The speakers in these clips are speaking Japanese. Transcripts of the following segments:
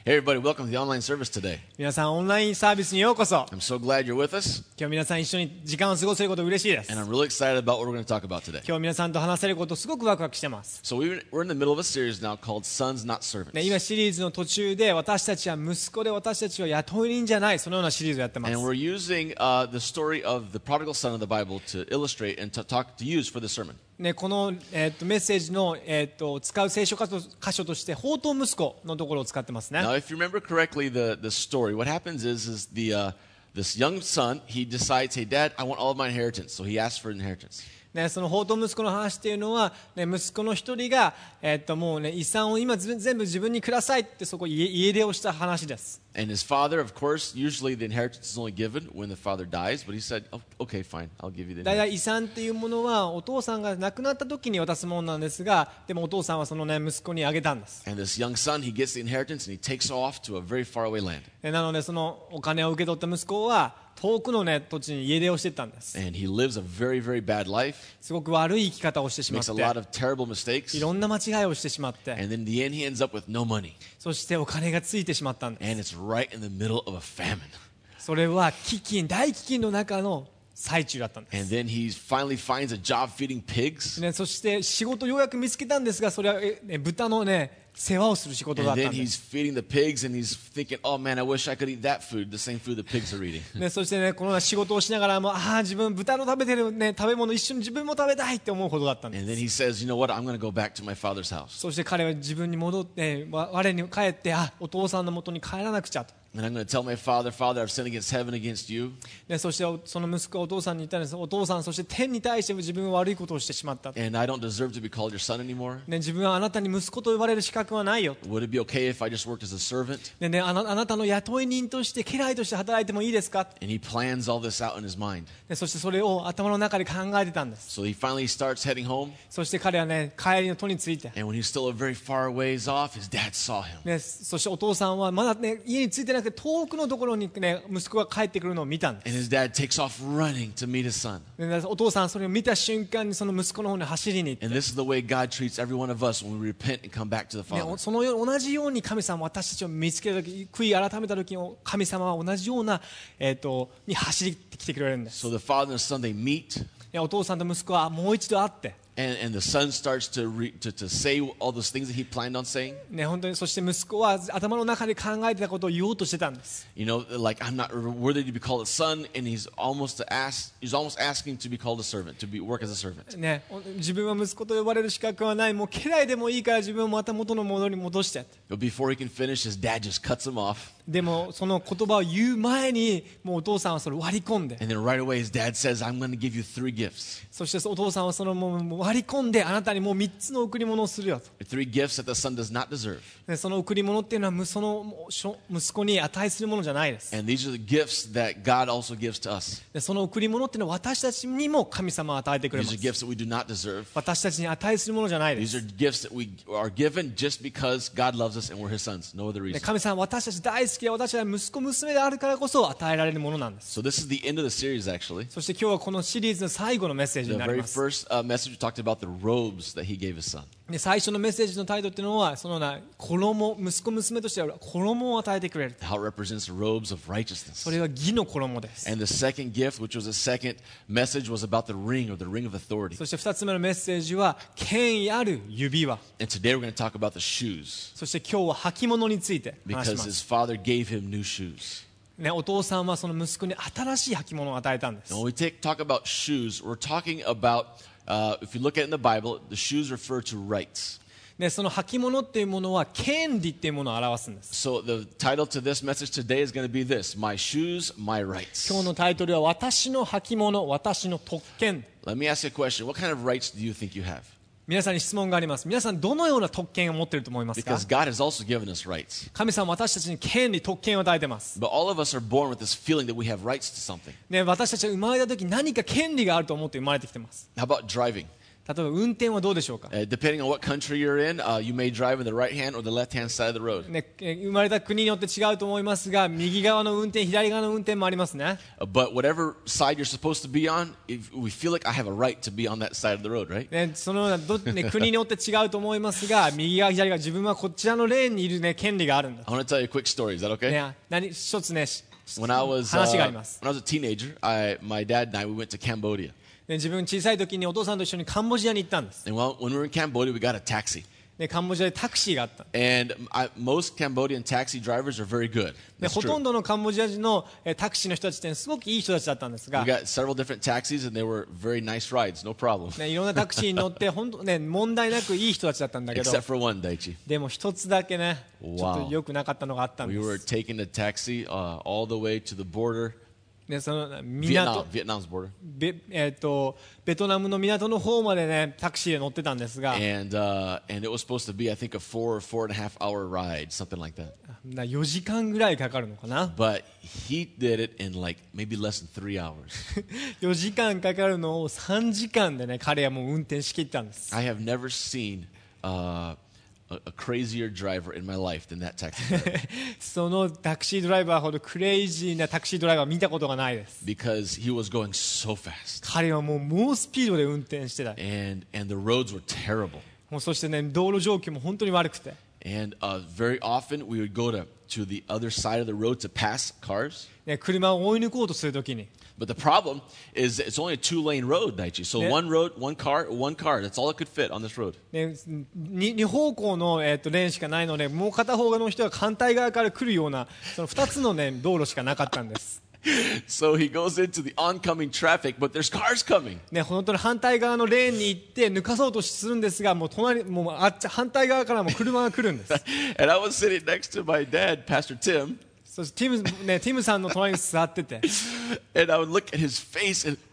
Hey everybody, welcome to the online service today. 皆さんオンラインサービスにようこそ。 I'm so glad you're with us, 今日皆さん一緒に時間を過ごせること嬉しいです。 and I'm really excited about what we're going to talk about today. 今日皆さんと話せることすごくワクワクしてます。 So we're in the middle of a series now called Sons Not Servants. 今シリーズの途中で私たちは息子で私たちは雇い人じゃない、そのようなシリーズをやってます。 And we're using the story of the prodigal son of the Bible to illustrate and to use for the sermon. この、メッセージの、使う聖書箇所として放蕩息子のところを使ってますね。 Now, if you remember correctly the story, what happens is this young son, he decides, hey, Dad, I want all of my inheritance. So he asks for inheritance. その放蕩息子の話っていうのは、息子の一人が、もう遺産を今全部自分にくださいってそこ家出をした話です。 And his father, of course, usually the inheritance is only given when the father dies, but he said, oh, okay, fine, I'll give you the だいた inheritance. い遺産っていうものはお父さんが亡くなった時に渡すものなんですが、でもお父さんはその、息子にあげたんです。 And this young son, he gets the inheritance and he takes off to a very far away land. なのでそのお金を受け取った息子は遠くの、土地に家出をしていったんです。 And he lives a very, very bad life, すごく悪い生き方をしてしまっ makes a lot て、 of terrible mistakes, いろんな間違いをしてしまって、 and then in the end, he ends up with no money. そしてお金がついてしまったんです。 And it's right in the middle of a famine. それは大飢饉の中の最中だったんで And す。 then he finally finds a job feeding pigs. そして仕事をようやく見つけたんですが、それは豚の世話をする仕事だ And った then んで he's す。 feeding the pigs and he's thinking, oh man, I wish I could eat that food, the same food the pigs are eating. そしてこの仕事をしながらも自分豚の食べてる、食べ物一緒に自分も食べたいって思うほどだったんです。 And then he says, you know what, I'm going to go back to my father's house. そして彼は自分に戻って我に帰ってお父さんの元に帰らなくちゃと。 And I'm going to tell my father, Father, I've sinned against heaven, against you. そしてその息子はお父さんに言ったんです。お父さん、そして天に対しても自分は悪いことをしてしまった。 And I don't deserve to be called your son anymore. 自分はあなたに息子と呼ばれる資格はないよ。 Would it be okay if I just worked as a servant? あなたの雇い人として家来として働いてもいいですか。 And he plans all this out in his mind. そしてそれを頭の中で考えてたんです。 So he finally starts heading home. そして彼は帰りの途について、 And when he's still a very far ways off, his dad saw him. そしてお父さんはまだ家に着いてなくて遠くのところに息子が帰ってくるのを見たんで And す。 his dad takes off running to meet his son. お父さんはそれを見た瞬間にその息子の方に走りに行って、 And this is the way God treats every one of us when we repent and come back to the Father. その同じように神様は私たちを見つけた時、悔い改めた時に神様は同じような、に走ってきてくれるんです。 So the father and son, they meet. お父さんと息子はもう一度会って、 And the son starts to say all those things that he planned on saying. 本当にそして息子は頭の中で考えてたことを言おうとしてたんです。 You know, like I'm not worthy to be called a son, and he's almost asking to be called a servant, to work as a servant. 自分は息子と呼ばれる資格はない、もう家来でもいいから自分をまた元の戻り戻して。 But before he can finish, his dad just cuts him off. でもその言葉を言う前にもうお父さんはそれを割り込んで、 And then right away, his dad says, I'm going to give you 3 gifts. そしてお父さんはそのもう割り込んで、あなたにもう3つの贈り物をするよと。 3 gifts that the son does not deserve. その贈り物っていうのはその息子に値するものじゃないです。 And these are the gifts that God also gives to us. その贈り物っていうのは私たちにも神様は与えてくれま These are す。 gifts that we do not deserve. 私たちに値するものじゃないで These す。 are gifts that we are given just because God loves us and we're his sons. No other reason. 神様は私たち大好きで、私たちは息子娘であるからこそ与えられるものなんです。 So this is the end of the series, actually. そして今日はこのシリーズの最後のメッセージ The になり very ます。 first message we talked about the robes that he gave his son. で最初のメッセージのタイトルっていうのはその衣、息子娘としては衣を与えてくれる。 How it represents the robes of righteousness. それは義の衣です。 And the second gift, which was the second message, was about the ring or the ring of authority. そして2つ目のメッセージは権威ある指輪。 And today we're going to talk about the shoes そして今日は履物について話し because ま his す。 father gave him new shoes. お父さんはその息子に新しい履物を与えたんです。 And when we talk about shoes, we're talking about, if you look at it in the Bible, the shoes refer to rights. その履物っていうものは権利っていうものを表すんです。 So the title to this message today is going to be this: My shoes, my rights. 今日のタイトルは私の履物、私の特権。 Let me ask you a question. What kind of rights do you think you have? 皆さんに質問があります。皆さんどのような特権を持っていると思いますか。 Because God has also given us rights. 神様は私たちに権利、特権を与えています。 But all of us are born with this feeling that we have rights to something. 私たちが生まれた時何か権利があると思って生まれてきています。 How about driving? 例えば運転はどうでしょうか、 Depending on what country you're in, you may drive in the right hand or the left hand side of the road. ね、生まれた国によって違うと思いますが、右側の運転、左側の運転もありますね。 But whatever side you're supposed to be on, if we feel like I have a right to be on that side of the road, right? ね、そのようなね、国によって違うと思いますが、右側、左側、自分はこちらのレーンにいる、ね、権利があるんだ。 I want to tell you a quick story. Is that okay? ね、一つね、 When I was 話があります。 when I was a teenager, my dad and I we went to Cambodia. ね、自分小さい時にお父さんと一緒にカンボジアに行ったんです。 And when we were in Cambodia, we got a taxi. ね、カンボジアでタクシーがあった。 And most Cambodian taxi drivers are very good. で That's ほとん true. どのカンボジア人のタクシーの人たちってすごくいい人たちだったんですが、 We got several different taxis, and they were very nice rides, no problem. ね、いろんなタクシーに乗って本当、ね、問題なくいい人たちだったんだけど、 Except for one, Daichi. でも一つだけね、ち Wow. ょっと良くなかったのがあったん We で were す。 taking the taxi all the way to the border, でその Vietnam's border. ベトナムの港の方までねタクシーで乗ってたんですが、 And it was supposed to be, I think, a 4.5 hour ride, something like that. 4時間ぐらいかかるのかな。 But he did it in like maybe less than 3 hours. 4時間かかるのを3時間でね彼はもう運転しきったんです。 I have never seen a crazier driver in my life than that taxi driver. そのタクシードライバーほどクレイジーなタクシードライバー見たことがないです。 Because he was going so fast. 彼はもう猛スピードで運転してた。 And the roads were terrible. もうそしてね道路状況も本当に悪くて、 And very often we would go to the other side of the road to pass cars. ね、車を追い抜こうとするときに、 But the problem is it's only a 2-lane road, Daichi. So Yeah. one road, one car. That's all it could fit on this road. ね、2方向の、レーンしかないので、もう片方の人が反対側から来るようなその2つの、ね、道路しかなかったんです。 So he goes into the oncoming traffic, but there's cars coming. ね、本当に反対側のレーンに行って抜かそうとするんですが、もう反対側からも車が来るんです。 And I was sitting next to my dad, Pastor Tim, そしてティムさんの隣に座ってて、 and I would look at his face and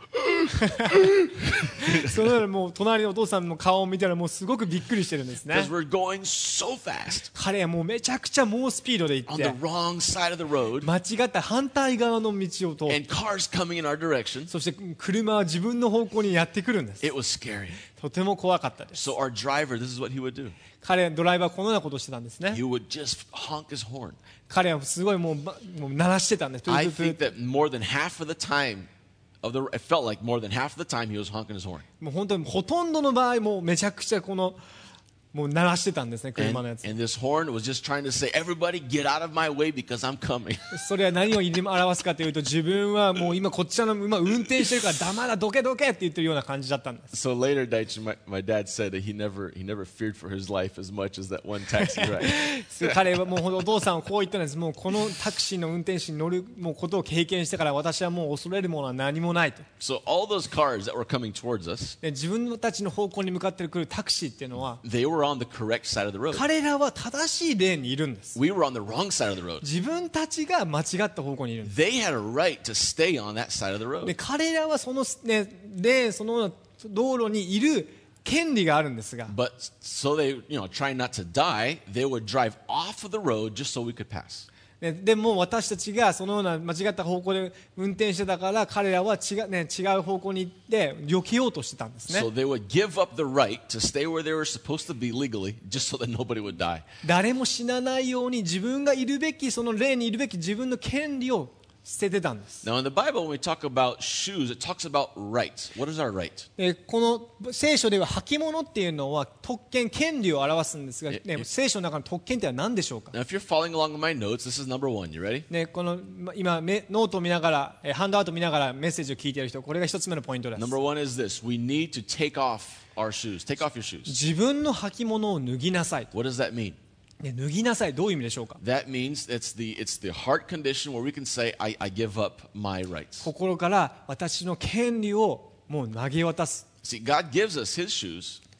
そのもう隣のお父さんの顔を見たらもうすごくびっくりしてるんですね。 because we're going so fast 彼はもうめちゃくちゃ猛スピードで行 on っ the て、 wrong side of the road 間違った反対側の道を通って、 and cars coming in our direction. そして車は自分の方向にやってくるんです。 It was scary. とても怖かったです。 So our driver, this is what he would do. ドライバーはこのようなことをしてたんですね。 He would just honk his horn. 彼はすごいもう鳴らしてたんです。 I think that more than half of the time it felt like more than half of the time he was honking his horn. もう本当にほとんどの場合もうめちゃくちゃもう鳴らしてたんですね、車のやつ。 And this horn was just trying to say, everybody get out of my way because I'm coming. それは何を表すかというと、自分はもう今こっちらの今運転してるから黙らどけどけって言ってるような感じだったんです。 So later, Daichi, my dad said that he never feared for his life as much as that one taxi ride. 彼はもうお父さんはこう言ったんです。もうこのタクシーの運転手に乗るもうことを経験してから、私はもう恐れるものは何もないと。 So all those cars that were coming towards us, で自分たちの方向に向かってくるタクシーっていうのは、 they were on the correct side of the road. 彼らは正しいレーンにいるんです。 We were on the wrong side of the road. 自分たちが間違った方向にいるんです。 They had a right to stay on that side of the で road. 彼らはその、ね、レーンその道路にいる権利があるんですが、 But so they, trying not to die, they would drive off of the road just so we could pass. ね、でも私たちがそのような間違った方向で運転してたから、彼らは違う方向に行って避けようとしてたんですね。 So they would give up the right to stay where they were supposed to be legally just so that nobody would die. 誰も死なないように自分がいるべきそのレーンにいるべき自分の権利を捨ててたんです。 Now in the Bible, when we talk about shoes, it talks about rights. What is our right? この聖書では履物っていうのは特権、権利を表すんですが、ね、聖書の中の特権っては何でしょうか。 Now if you're following along with my notes, this is number 1. You ready? ね、この今ノートを見ながらハンドアウトを見ながらメッセージを聞いている人、これが一つ目のポイントです。 Number 1 is this. We need to take off our shoes. Take off your shoes. 自分の履物を脱ぎなさい。 What does that mean? ね、脱ぎなさい、どういう意味でしょうか。 That means it's the heart condition where we can say, I give up my rights. 心から私の権利をもう投げ渡す。 See, God gives us His shoes.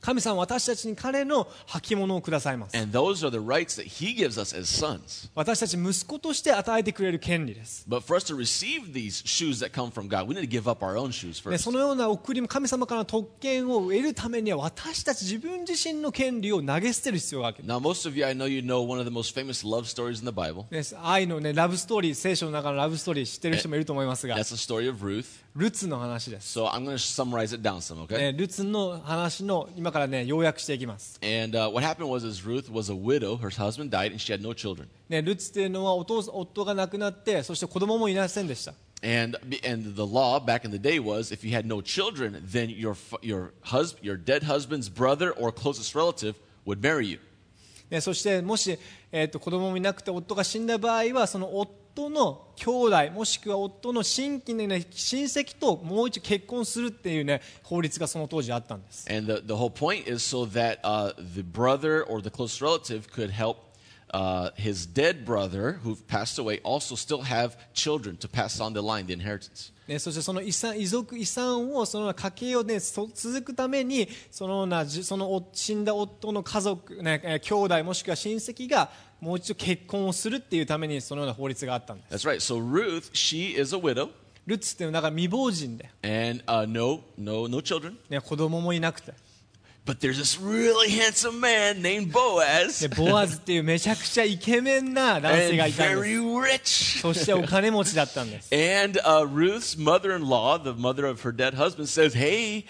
神様は私たちに彼の履物をくださいます。 And those are the rights that He gives us as sons. 私たち息子として与えてくれる権利です。 But for us to receive these shoes that come from God, we need to give up our own shoes で first. そのような贈りも神様からの特権を得るためには私たち自分自身の権利を投げ捨てる必要がある。 Now, most of you, I know you know one of the most famous love stories in the Bible. 愛の、ラブストーリー、聖書の中のラブストーリー知ってる人もいると思いますが、 That's the story of Ruth. ルツの話です。 So I'm going to summarize it down some, okay? ルツの話の今から要約していきます。 And what happened was Ruth was a widow. Her husband died, and she had no children. ルツというのは夫が亡くなって、そして子供もいませんでした。 And the law back in the day was if you had no children, then your dead husband's brother or closest relative would marry you. そしてもし、子供もいなくて夫が死んだ場合はその夫の兄弟もしくは夫の親戚の、親戚ともう一度結婚するっていう、法律がその当時あったんです。 And the whole point is so that the brother or the close relative could help his dead brother who passed away also still have children to pass on the line, the inheritance. そしてその遺産をその家計を、続くためにその死んだ夫の家族、兄弟もしくは親戚がもう一度結婚をするっていうためにそのような法律があったんです。 That's right. So Ruth, she is a widow ルツっていうのは未亡人で、 and no children. 子供もいなくて、 But there's this really handsome man named Boaz ボアズっていうめちゃくちゃイケメンな男性 and がいたんです。 very rich. そしてお金持ちだったんです。 And Ruth's mother-in-law, the mother of her dead husband, says, "Hey,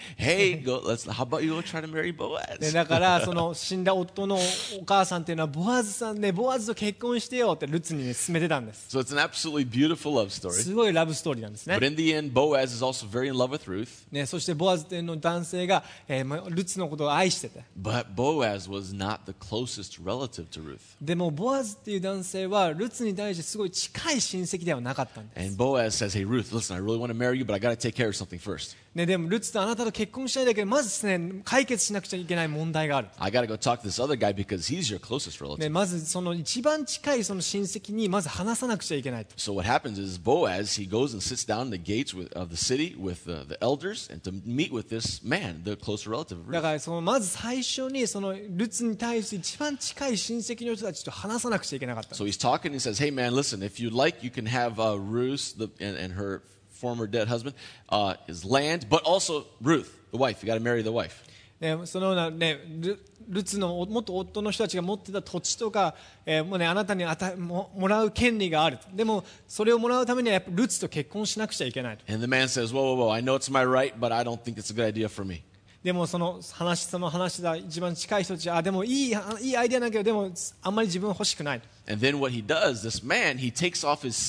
how about you go try to marry Boaz?" だからその死んだ夫のお母さんっていうのはボアズさんね、ボアズと結婚してよってルツに、勧めてたんです。 So it's an absolutely beautiful love story. すごいラブストーリーなんですね。 But in the end, Boaz is also very in love with Ruth. そしてボアズっていうの男性が、ルツのことを愛してて、 But Boaz was not the closest relative to Ruth. でもボアズっていう男性はルツに対してすごい近い親戚ではなかったんです。 And Boaz says, "Hey Ruth, listen, I really want to marry you, but I got to take care of something first. でもルツとあなたと結婚したいんだけど、まずですね、解決しなくちゃいけない問題がある。 I got to go talk to this other guy because he's your closest relative." まずその一番近いその親戚にまず話さなくちゃいけないと。 So what happens is Boaz, he goes and sits down in the gates of the city with the elders and to meet with this man, the closer relative of だ Ruth. からそのまず最初にそのルツに対して一番近い親戚の人たちと話さなくちゃいけなかった。 So he's talking and he says, "Hey man, listen, if you'd like, you can have Ruth and her former dead husband, his land, but also Ruth, the wife. You got to marry the wife." そのようなルツの元夫の人たちが持ってた土地とか、もうあなたにもらう権利がある。でもそれをもらうためにはやっぱルツと結婚しなくちゃいけないと。 And the man says, "Whoa, I know it's my right, but I don't think it's a good idea for me." でもその話だ一番近い人たちはでもいいアイデアだけどでもあんまり自分は欲しくない。 And then what he does, this man, he takes off his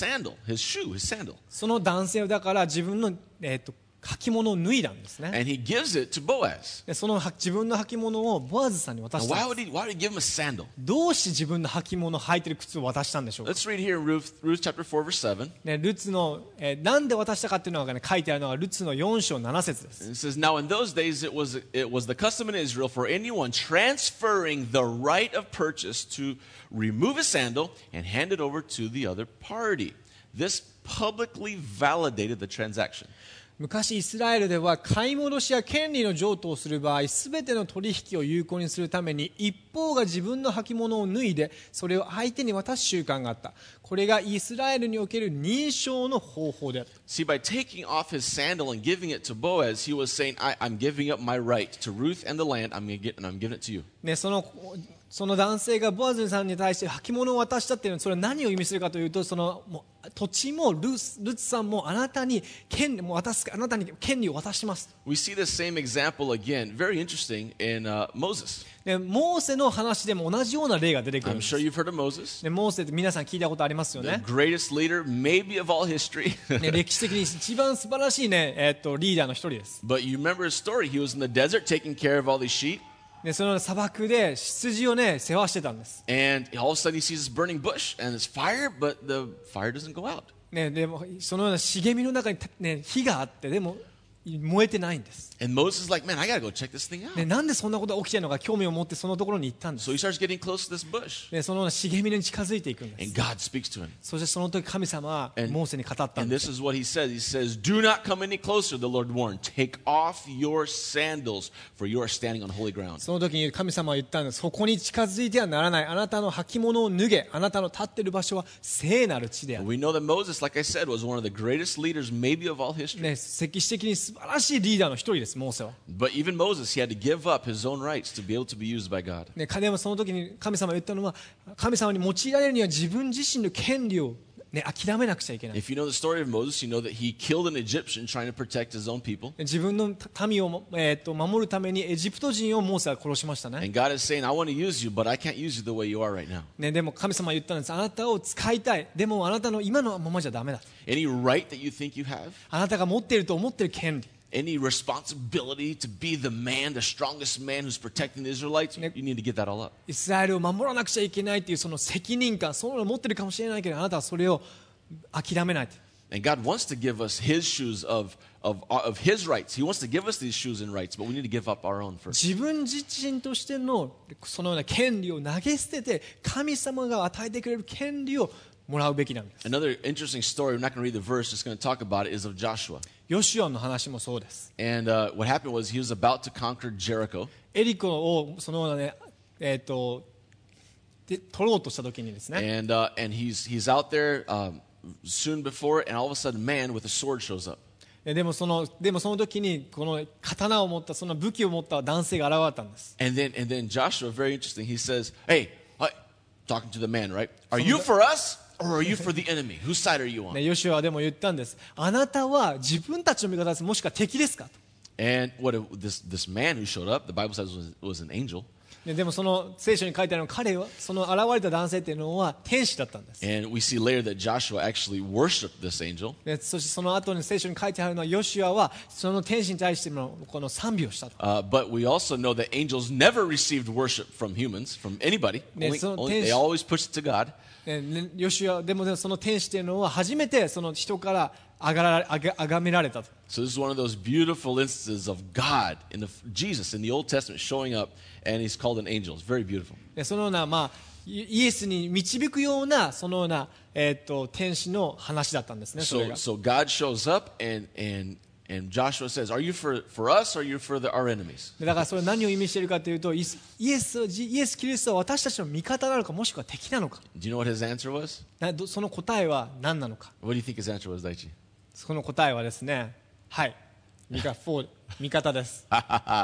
sandal. その男性はだから自分の履物を脱いだんですね。 And he gives it to Boaz. でその自分の履物をボアズさんに渡 Now, したん why です。 would he give him a sandal? どうして自分の履物履いてる靴を渡したんでしょうか。 Let's read here in Ruth chapter 4, verse 7. ルツの、なんで渡したかっていうのが、書いてあるのがルツの4章7節です。 It says, "Now in those days it was the custom in Israel for anyone transferring the right of purchase to remove a sandal and hand it over to the other party. This publicly validated the transaction." 昔イスラエルでは買い戻しや権利の譲渡をする場合、すべての取引を有効にするために一方が自分の履物を脱いでそれを相手に渡す習慣があった。これがイスラエルにおける認証の方法であった。 See, by taking off his sandal and giving it to Boaz, he was saying, I'm giving up my right to Ruth and the land, and I'm giving it to you. その男性がボアズさんに対して履物を渡したっていうのはそれは何を意味するかというと、そのもう土地もルツさんもあなたに権利を渡します。 We see the same example again, very interesting, in Moses. でモーセの話でも同じような例が出てくるん I'm です。 sure you've heard of Moses, でモーセって皆さん聞いたことありますよ the ね。 greatest leader maybe of all history. 歴史的に一番素晴らしい、リーダーの一人です。 But you remember his story. He was in the desert taking care of all these sheep, でその砂漠で羊を世話してたんです。 and all of a sudden he sees this burning bush, and it's fire, but the fire doesn't go out. でもそのような茂みの中に、火があって、でも燃えてないんです。 And Moses is like, man, I got to go check this thing out. でなんでそんなことが起きているのか興味を持ってそのところに行ったんです。 So he starts getting close to this bush. でその茂みに近づいていくんです。 And God speaks to him. そしてその時神様はモーセに語ったん And で this す。 is what he says. He says, do not come any closer, the Lord warned. Take off your sandals, for you are standing on holy ground. その時に神様は言ったんです。そこに近づいてはならない。あなたの履物を脱げ。あなたの立っている場所は聖なる地である。 We know that Moses, like I said, was one of the greatest leaders maybe of all history. ね、歴史的に素晴らしいリーダーの一人です、モーセは。 But even Moses, he had to give up his own rights to be able to be used by God. ね、彼はその時に神様が言ったのは、神様に用いられるには自分自身の権利を、ね、諦めなくちゃいけない。 If you know the story of Moses, you know that he killed an Egyptian trying to protect his own people. 自分の民を、守るためにエジプト人をモーセは殺しましたね。 And God is saying, I want to use you, but I can't use you the way you are right now. ね、でも神様は言ったんです。あなたを使いたい。でもあなたの今のままじゃダメだ。 Any right that you think you have, あなたが持っていると思っている権利。 any responsibility to be the man, the strongest man who's protecting the Israelites, you need to get that all up. イスラエルを守らなくちゃいけないというその責任感、そのを持っているかもしれないけど、あなたはそれを諦めない。 And God wants to give us his shoes of his rights. He wants to give us these shoes and rights, but we need to give up our own first. 自分自身としてのそのような権利を投げ捨てて、神様が与えてくれる権利をもらうべきなんです。 Another interesting story, we're not going to read the verse, just going to talk about it, is of Joshua. ヨシュアの話もそうです。 And what happened was he was about to conquer Jericho. エリコをそのようなね、で取ろうとした時にですね、 And he's out there soon before, and all of a sudden, man with a sword shows up. でもその時にこの刀を持ったその武器を持った男性が現れたんです。 And then Joshua, very interesting, he says, hey, talking to the man, right? Are you for us or are you for the enemy? Whose side are you on? ね、ヨシュアはでも言ったんです。あなたは自分たちの味方です。もしくは敵ですかと。 And this man who showed up, the Bible says was an angel. でもその聖書に書いてあるのは彼はその現れた男性っていうのは天使だったんです。 And we see later that Joshua actually worshipped this angel. でそしてその後に聖書に書いてあるのはヨシュアはその天使に対してのこの賛美をしたと。 But we also know that angels never received worship from humans, from anybody. They always pushed it to God. ヨシュアでもその天使っていうのは初めてその人から崇められたと。 So this is one of those beautiful instances of God Jesus in the Old Testament showing up, and he's called an angel. It's very beautiful. でそのような、イエスに導くようなそのような、天使の話だったんですね。それが So God shows up, and Joshua says, "Are you for us, or are you for our enemies?" だからそれは何を意味しているかというとイエス・キリストは私たちの味方なのかもしくは敵なのか。 Do you know what his answer was? その答えは何なのか。 What do you think his answer was, Daichi? その答えはですね、はい、味方です。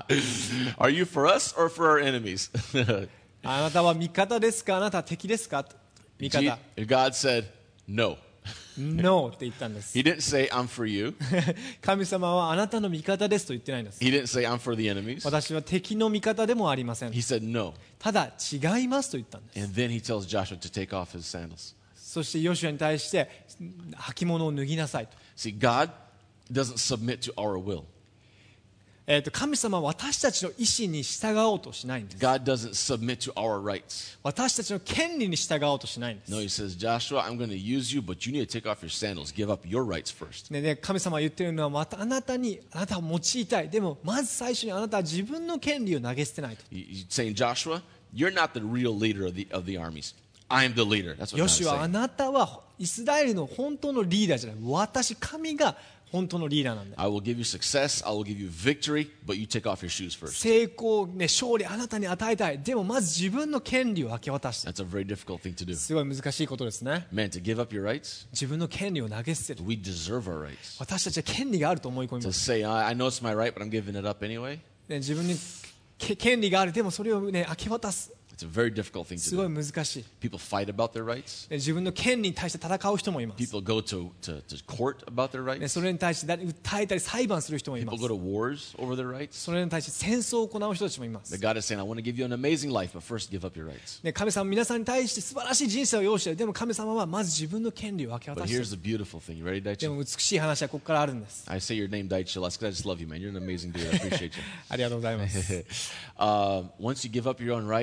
Are you for us or for our enemies? あなたは味方ですか、あなたは敵ですか。味方。 God said, "No." No って言ったんです。 He didn't say, "I'm for you." 神様はあなたの味方ですと言ってないんです。 He didn't say, "I'm for the enemies." 私は敵の味方でもありません。 He said, "No." ただ違いますと言ったんです。 And then he tells Joshua to take off his sandals. そしてヨシュアに対して履物を脱ぎなさいと。 See, God doesn't submit to our will. 神様は私たちの意思に従おうとしないんです。 God doesn't submit to our rights. 私たちの権利に従おうとしないんです。 No, he says, Joshua, I'm going to use you, but you need to take off your sandals. Give up your rights first. で神様が言っているのはあなたを用いたい。でもまず最初にあなたは自分の権利を投げ捨てないと。 He's saying, Joshua, you're not the real leader of the armies. I'm the leader. That's what ヨ God シ is ュア、あ saying. なたはイスラエルの本当のリーダーじゃない。私、神が本当のリーダーなんだ。 I will give you success. I will give you victory, but you take off your shoes first. 成功、勝利あなたに与えたい。でもまず自分の権利を明け渡して。 That's a very difficult thing to do. すごい難しいことですね。 Man, to give up your rights, 自分の権利を投げ捨てる。 we deserve our rights. 私たちは権利があると思い込み To ます。 say, I know it's my right, but I'm giving it up anyway, 自分に権利がある。でもそれを明け渡す。 it's a very difficult thing す to ごい do. 難しい。 People fight about their rights. 自分の権利に対して戦う人もいます。 People go to court about their rights. それに対して訴えたり裁判する人もいま People す。 go to wars over their rights. それに対して戦争を行う人たちもいま But す。 God is saying, I want to give you an amazing life, but first give up your rights. 神様は皆さんに対して素晴らしい人生を用意している。でも神様はまず自分の権利を明け But 渡してい here's る。 the beautiful thing. You ready, で Daichi? も美しい話はここからあるんです。 I say your name, Daichi. That's because I just love you, man. You're an amazing dude. I appreciate you. ありがとうございます。 Once you give up your own rights, the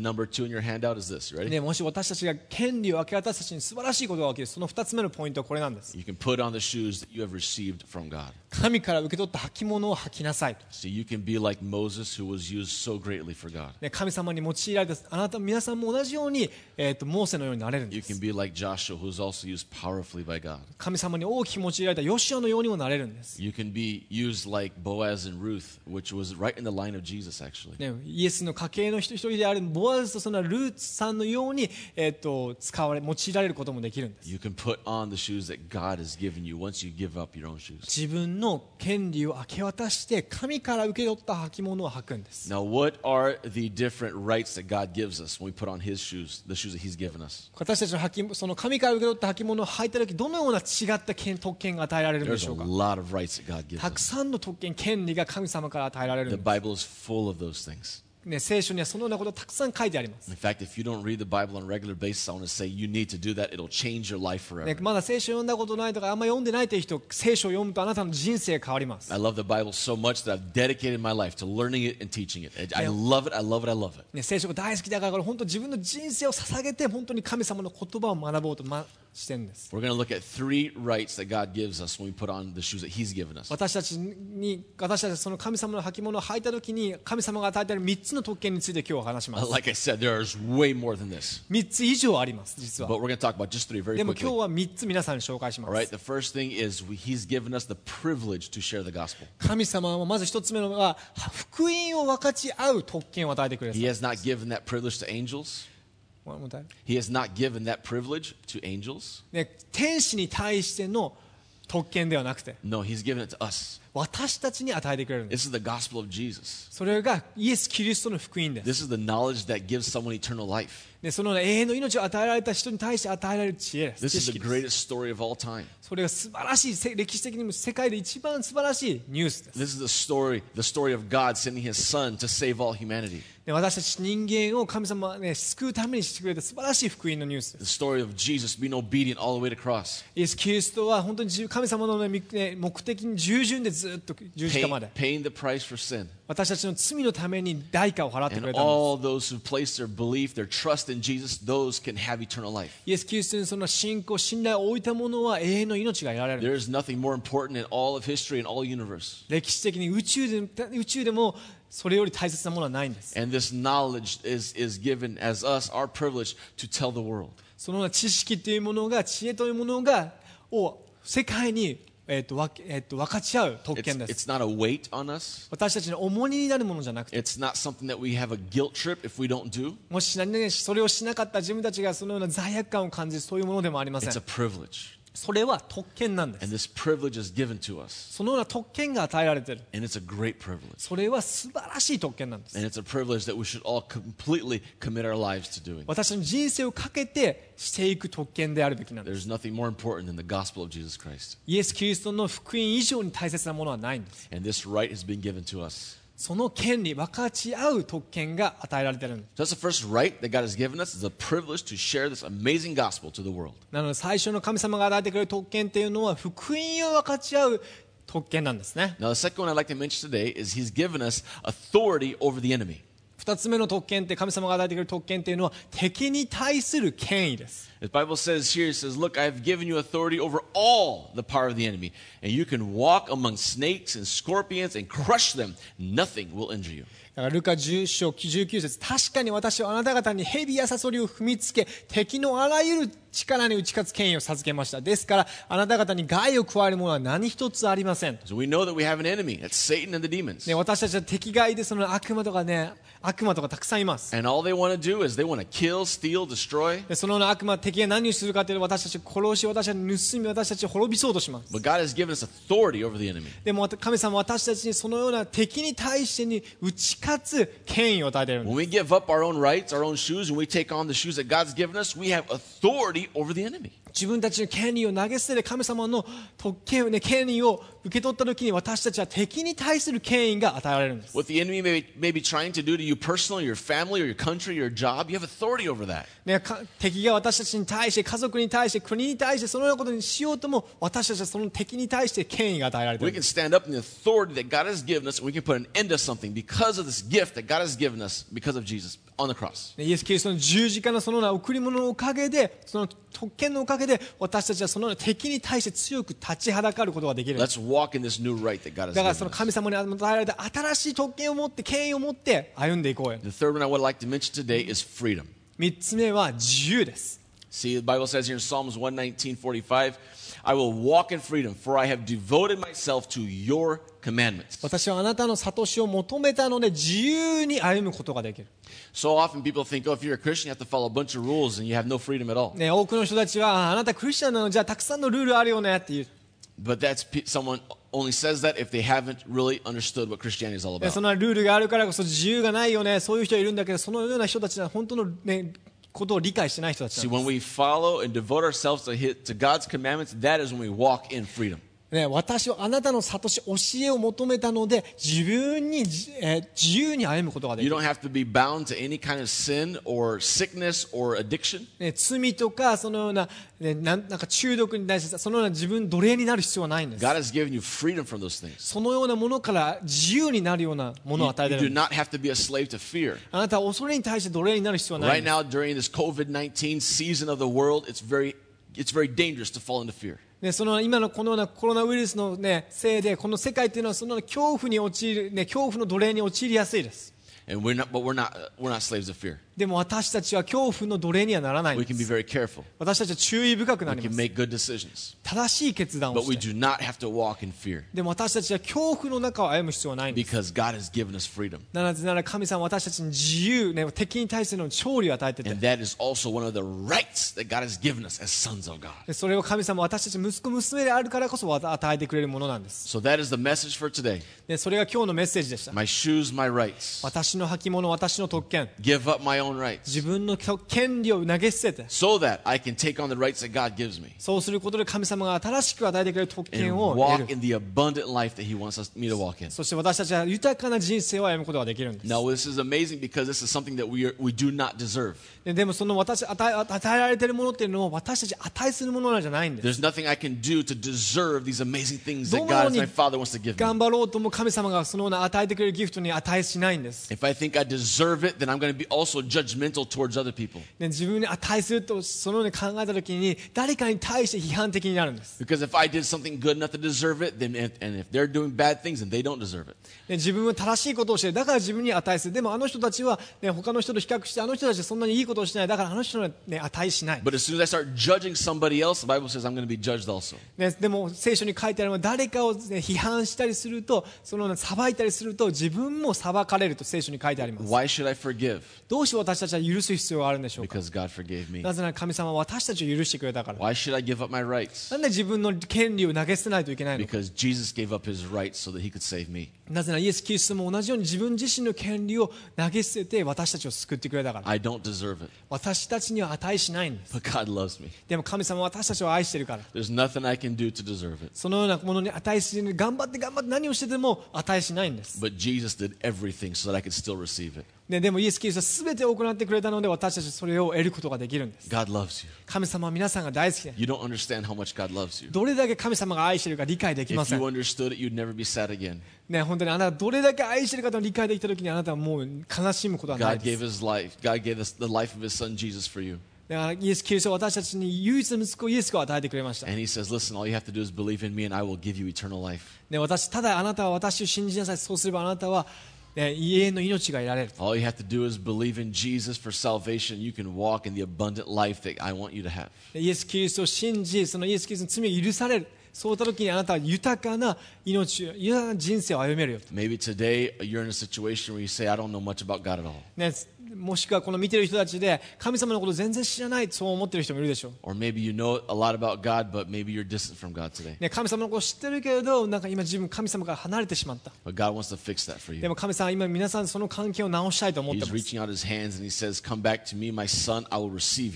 number 2 in your handout is this. Ready? でもし私たちが権利を明け渡すたちに素晴らしいことが起きる、その2つ目のポイントはこれなんです。 You can put on the shoes that you have received from God. 神から受け取った履物を履きなさいと。 So you can be like Moses, who was used so greatly for God. 神様に用いられたあなた皆さんも同じように、モーセのようになれるんで You す。 can be like Joshua, who was also used powerfully by God. 神様に大きく用いられたヨシュアのようにもなれるんです。 You can be used like Boaz and Ruth, which was right in the line of Jesus, actually. ね、イエスの家系の一人であるボアズとそのルーツさんのように、用いられることもできるんです。 You can put on the shoes that God has given you once you give up your own shoes. 自分の権利を明け渡して神から受け取った履物を履くんです。 Now, what are the different rights that God gives us when we put on His shoes, the shoes that He's given us? 私たちのその神から受け取った履物を履いたとき、どのような違った特権が与えられるんで There's し a ょうか。 lot of rights that God gives たく us. さんの特権、権利が神様から与えられる The んです。 Bible is full of those things. ね、聖書にはそのようなことがたくさん書いてあります。 In fact, if you don't read the Bible on a regular basis, I want to say you need to do that. It'll change your life ね、 forever. まだ聖書を読んだことないとかあんま読んでないという人、聖書を読むとあなたの人生が変わります。 I love the Bible so much that I've dedicated my life to learning it and teaching it. I love it, I love it, I love it. ね、聖書が大好きだからこれ本当自分の人生を捧げて本当に神様の言葉を学ぼうとしてるんです。 We're going to look at 3 rights that God gives us when we put on the shoes that He's given us. 私たちはその神様の履物を履いたときに神様が与えている3つの特権について今日は話します。 Like I said, there's way more than this. 3つ以上あります実は。 But we're going to talk about just 3 very でも今 quickly. 日は3つ皆さんに紹介しま All right, す。 the first thing is He's given us the privilege to share the gospel. 神様はまず1つ目のは福音を分かち合う特権を与えてくれ He る。 has not given that privilege to angels. もう一回 He has not given that privilege to angels. ね、天使に対しての特権ではなくて No, He's given it to us. 私たちに与えてくれるんです。 This is the gospel of Jesus. それがイエス・キリストの福音です。 This is the knowledge that gives someone eternal life. でその永遠の命を与えられた人に対して与えられる知恵です。 This 知 is the 識です。 greatest story of all time. それが素晴らしい、歴史的にも世界で一番素晴らしいニュースです。 This is the story of God sending His Son to save all humanity. で私たち人間を神様は、ね、救うためにしてくれた素晴らしい福音のニュースです。 The story of Jesus being obedient all the way to cross. イエス・キリストは本当に神様の、ね、目的に従順でずっと十字架まで Paying the price for sin. 私たちの罪のために代価を払ってく And れたんです。 all those who place their belief, their trust in Jesus, those can have eternal life. イエス・キリストにその信仰、信頼を置いた者は永遠の命が得られる。 There is nothing more important in all of history and all universe. 歴史的に宇宙でもそれより大切なものはないんです。 And this knowledge is given as us, our privilege, to tell the world. その知識というものが、知恵というものがを世界に、分かち合う特権です。 It's not a weight on us. 私たちの重荷になるものじゃなくて、 It's not something that we have a guilt trip if we don't do. もし何々それをしなかった自分たちがそのような罪悪感を感じるそういうものでもありません It's a。privilege. それは特権なんで And す。 this privilege is given to us. そのような特権が与えられている。 And it's a great privilege. それは素晴らしい特権なんです。 And it's a privilege that we should all completely commit our lives to doing. 私の人生をかけてしていく特権であるべきなんです。 There's nothing more important than the gospel of Jesus Christ. イエス・キリストの福音以上に大切なものはないんです。 And this right has been given to us. その権利、分かち合う特権が与えられているんです。 So that's the first right that God has given us, is the privilege to share this amazing gospel to the world. なので最初の神様が与えてくれる特権というのは福音を分かち合う特権なんですね。 Now, the second one I'd like to mention today is He's given us authority over the enemy. 二つ目の特権って神様が与えてくれる特権というのは敵に対する権威です。 The Bible says here, it says, look, I've given you authority over all the power of the enemy, and you can walk among snakes and scorpions and crush them. Nothing will injure you. だからルカ10章19節、確かに私はあなた方に蛇やサソリを踏みつけ敵のあらゆる力に打ち勝つ権威を授けました。ですからあなた方に害を加えるものは何一つありません。 So we know that we have an enemy. That's Satan and the demons. ね、私たちは敵害でその悪魔とかたくさんいます。 And all they want to do is they want to kill, steal, destroy. でその悪魔、敵が何をするかというと私たちを殺し、私たちを盗み、私たちを滅びそうとします。 But God has given us authority over the enemy. でも神様は私たちにそのような敵に対してに打ち勝つ権威を与えているんです。 When we give up our own rights, our own shoes, and we take on the shoes that God's given us, we have authority over the enemy. 自分たちの権利を投げ捨てて神様の特権、権利を受け取ったときに私たちは敵に対する権威が与えられるんです。 What the enemy may be trying to do to you personally, your family, or your country, your job, you have authority over that. ね、敵が私たちにに対して、家族に対して、国に対して、そのようなことにしようとも、私たちはその敵に対して権威が与えられてい We る。 can stand up in the authority that God has given us, and we can put an end to something because of this gift that God has given us because of Jesus on the cross. イエス・キリストの十字架のそのような贈り物のおかげで、その特権のおかげで、私たちはそのような敵に対して強く立ちはだかることができる。 Let's walk in this new right that God has だから given その us. 神様に与えられた新しい特権を持って、権威を持って歩んでいこうよ。 The third one I would like to mention today is freedom. 3つ目は自由です。 See, the Bible says here in Psalms 119:45, I will walk in freedom, for I have devoted myself to your commandments. 私はあなたの悟しを求めたので自由に歩むことができる。 So often people think, oh, if you're a Christian, you have to follow a bunch of rules and you have no freedom at all. ね、多くの人たちはあなたクリスチャンなのじゃあたくさんのルールあるよねっていう。 But someone only says that if they haven't really understood what Christianity is all そ about. のルールがあるからこそ自由がないよね、そういう人いるんだけど、そのような人たちは本当の、ね、ことを理解してない人たち See, なんで when we follow and devote ourselves to God's commandments, that is when we walk in freedom. す。ね、私はあなたの悟し、教えを求めたので自分に、自由に歩むことができ You る。 don't have to be bound to any kind of sin or sickness or addiction. ね、罪とかそのような、ね、なんか中毒に対してそのような自分奴隷になる必要はないんです。 God has given you freedom from those things. そのようなものから自由になるようなものを You, 与えて you る do んです。 not have to be a slave to fear. あなたは恐れに対して奴隷になる必要はない Right んです。 now, during this COVID-19 season of the world, it's very dangerous to fall into fear. ね、その今のこのようなコロナウイルスの、ね、せいでこの世界というのはその恐怖に陥る、ね、恐怖の奴隷に陥りやすいです。 And we're not slaves of fear. でも私たちは恐怖の奴隷にはならないん We で can be す。 very careful. 私たちは注意深くな We り can ます。 make good decisions. 正しい決断を But we して。 do not have to walk in fear でも私たちは恐怖の中を歩む必要はないんです。 because God has given us freedom. なぜなら神様は私たちに自由、ね、敵に対しての勝利を与えてて、 And that is also one of the rights that God has given us as sons of God. でそれを神様は私たち息子娘であるからこそ与えてくれるものなんです。 So that is the message for today. でそれが今日のメッセージでした。 My shoes, my rights. 私の履物、私の特権、 Give up my own rights 自分の権利を投げ捨てて、 so that I can take on the rights that God gives me そうすることで神様が新しく与えてくれる特 and 権を得 walk る。 in the abundant life that He wants me to walk in. そして私たちは豊かな人生を歩むことができるんです。 Now, this is amazing because this is something that we do not deserve. でもその与えられているものっていうのは私たち値するものなんじゃないんです。 There's nothing I can do to deserve these amazing things ど that の God, よう as に my Father, wants to give me. 頑張ろうとも神様がそのような与えてくれるギフトに値しないんです。 If I think I deserve it, then I'm going to be also judgmental towards other people. で自分に値するとそのように考えたときに誰かに対して批判的になるんです。 Because if I did something good enough to deserve it, then and if they're doing bad things, then they don't deserve it. で自分は正しいことをしてだから自分に値する。でもあの人たちは、ね、他の人と比較してあの人たちはそんなにいいことをしない。だからあの人は、ね、値しない。 But as soon as I start judging somebody else, the Bible says I'm going to be judged also. ね、でも聖書に書いてあるのは誰かを、ね、批判したりするとその裁いたりすると自分も裁かれると聖書に書いてあります。 Why should I forgive? どうして私たちは許す必要があるんでしょうか。 Because God forgave me. なぜなら神様は私たちを許してくれたから。 Why should I give up my rights? なんで自分の権利を投げ捨てないといけないのか。 Because Jesus gave up His rights so that He could save me. なぜならイエス・キリストも同じように自分自身の権利を投げ捨てて私たちを救ってくれたから。 I don't deserve it, 私たちには値しないんです。 but God loves me. でも神様は私たちを愛しているから。 There's nothing I can do to deserve it. そのようなものに値しない。頑張って何をしてでも値しないんです。 But Jesus did everything so that I could still receive it. ね、でもイエス・キリストは全てを行ってくれたので私たちはそれを得ることができるんです。 God loves you. 神様は皆さんが大好きで You don't understand how much God loves you. どれだけ神様が愛しているか理解できま If せ you ん。 understood it, you'd never be sad again. ね、本当にあなたがどれだけ愛しているかと理解できたときにあなたはもう悲しむことはない God で gave す。 His life. God gave us the life of His Son Jesus for you. だからイエス・キリストは私たちに唯一の息子イエスを与えてくれました。 And He says, listen, all you have to do is believe in me and I will give you eternal life. ね、ただあなたは私を信じなさい。そうすればあなたは、ね、永遠の命が得られる。 All you have to do is believe in Jesus for salvation. You can walk in the abundant life that I want you to have. イエス・キリストを信じ、そのイエス・キリストの罪を許される。そういった時にあなたは豊かな命、豊かな人生を歩めるよと。 Maybe today you're in a situation where you say, I don't know much about God at all. ね、もしくはこの見てる人たちで神様のこと全然知らないそう思ってる人もいるでしょう。 Or maybe you know a lot about God, but maybe you're distant from God today. ね、神様のこと知ってるけれどなんか今自分神様から離れてしまった。 But God wants to fix that for で you. も神様は今皆さんその関係を直したいと思って He's ます。 reaching out His hands and He says, come back to me, my son, I will receive you.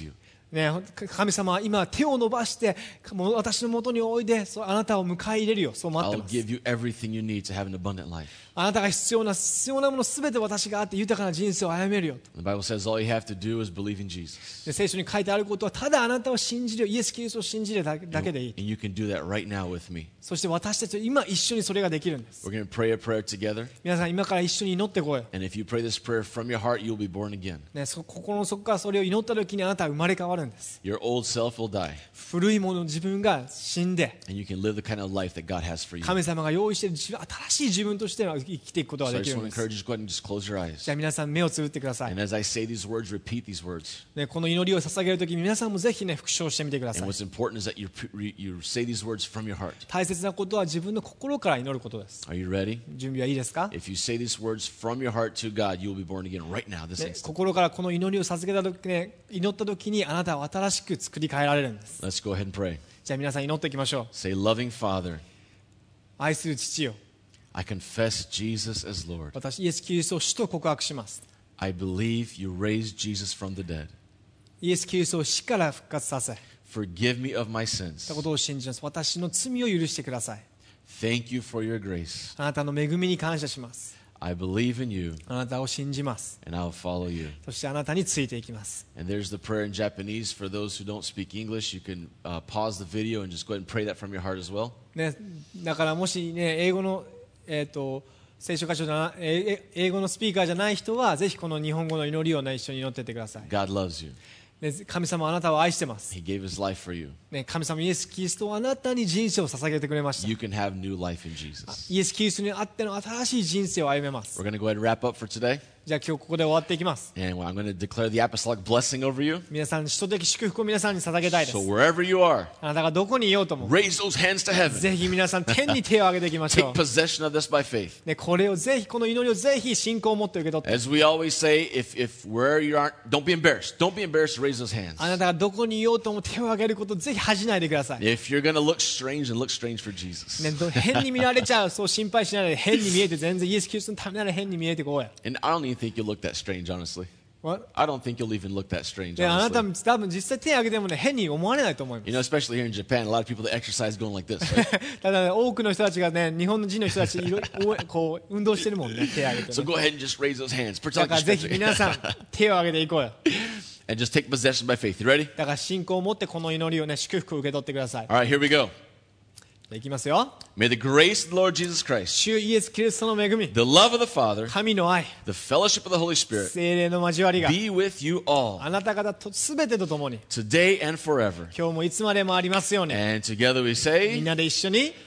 ね、神様は今手を伸ばしてもう私の元においであなたを迎え入れるよ、そう待って I'll ます。 give you everything you need to have an abundant life. あなたが必要なものすべて私があって豊かな人生を歩めるよと。 The Bible says all you have to do is believe in Jesus. で聖書に書いてあることはただあなたを信じる、イエス・キリストを信じるだけでいい。 And you can do that right now with me. そして私たちは今一緒にそれができるんです。 We're going to pray a prayer together. 皆さん今から一緒に祈ってこいよ、 And if you pray this prayer from your heart, you'll be born again. ね、心の底からそれを祈った時にあなたは生まれ変わるんです。 Your old self will die. 古いもの自分が死んで And you can live the kind of life that God has for you. 神様が用意している新しい自分として生きていくことが So I でき just るん want で to す。 encourage you to go ahead and just close your eyes. じゃあ皆さん目をつぶってください、 And as I say these words, repeat these words. ね、この祈りを捧げるときに皆さんもぜひね復唱してみてくださ And い。 what's important is that you say these words from your heart. 大切なことは自分の心から祈ることです。 Are you ready? 準備はいいですか、 If you say these words from your heart to God, you will be born again right now, this ね、 instant. 心からこの祈りを捧げた時、ね、祈った時にあなたは新しく作り変えられるんです。 Let's go ahead and pray. じゃあ皆さん祈っていきましょう。 Say, loving Father, 愛する父よ、 I confess Jesus as Lord. 私イエス・キリストを主と告白します。 I believe you raised Jesus from the dead. イエス・キリストを死から復活させた Forgive me of my sins. ことを信じます。私の罪を許してください。 Thank you for your grace. あなたの恵みに感謝します。 I believe in you, あなたを信じます。 and I'll follow you. そしてあなたについていきます。 And there's the prayer in Japanese. For those who don't speak English, you can pause the video and just go ahead and pray that from your heart as well. ね、だからもし、ね、英語の、聖書箇所じゃな英語のスピーカーじゃない人はぜひこの日本語の祈りを、ね、一緒に祈っていってください、 God loves you. ね、神様はあなたを愛してます、 He gave his life for you. ね、神様イエス・キリストはあなたに人生を捧げてくれました。 You can have new life in Jesus. イエス・キリストにあっての新しい人生を歩めます。 We're going to go ahead and wrap up for today. じゃあ今日ここで終わっていきます。 And I'm going to declare the apostolic blessing over you. 皆さん首都的祝福を皆さんに捧げたいです。 So wherever you are, あなたがどこにいようとも raise those hands to heaven. ぜひ皆さん天に手を挙げていきましょ Take possession of this by faith. う、ね、これをぜひこの祈りをぜひ信仰を持って受け取って、 As we always say, if where you aren't, don't be embarrassed. Don't be embarrassed to raise those hands. あなたがどこにいようとも手を挙げることをぜひ恥じないでください、 If you're going to look strange, then look strange for Jesus. ね、変に見られちゃうそう心配しないで変に見えて全然イエス・キリストのためなら変に見えてこうや。 And I don't even think you'll look that strange, honestly. What? I don't think you'll even look that strange, であなた honestly. 多分実際手を挙げても、ね、変に思われないと思います You know, especially here in Japan, a lot of people that exercise going like this. Right? ただ、ね、多くの人たちがね日本人の人たちこう運動してるもんね、手を挙げて、 So ね、 go ahead and just raise those hands. だ Pretend から you're ぜひ皆 stretching. さん手を挙げていこうよ。 And just take possession by faith. You ready? だから信仰を持ってこの祈りをね祝福を受け取ってください。 All right, here we go. いきますよ。 May the grace of the Lord Jesus Christ, 主イエス・キリストの恵み、 the love of the Father, 神の愛、 the fellowship of the Holy Spirit 聖霊の交わりが be with you all あなた方と全てとともに today and forever. 今日もいつまでもありますように。 And together we みん say, なで一緒に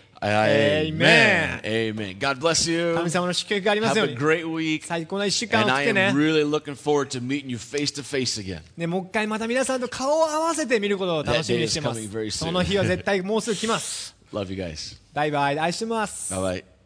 Amen. Amen. God bless you. 神様の祝福があります Have よう a に。 great week. 最高な一週間を And 送っ I て am ね。 really looking forward to meeting you face to face again. ね、もう一回また皆さんと顔を合わせて見ることを楽しみにしてま That day is coming very す。 soon. その日は絶対もうすぐ来ます。 Love you guys. バイバイ、愛してます。 Bye bye.